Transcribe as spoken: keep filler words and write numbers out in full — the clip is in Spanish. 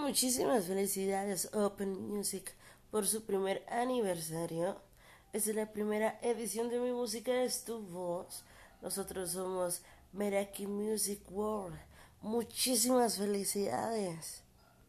Muchísimas felicidades Open Music por su primer aniversario. Esta es la primera edición de Mi Música es tu voz. Nosotros somos Meraki Music World. Muchísimas felicidades.